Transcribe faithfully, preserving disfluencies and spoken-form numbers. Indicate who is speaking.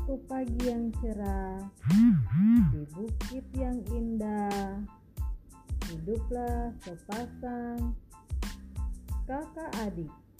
Speaker 1: Suatu pagi yang cerah di bukit yang indah, hiduplah sepasang kakak adik.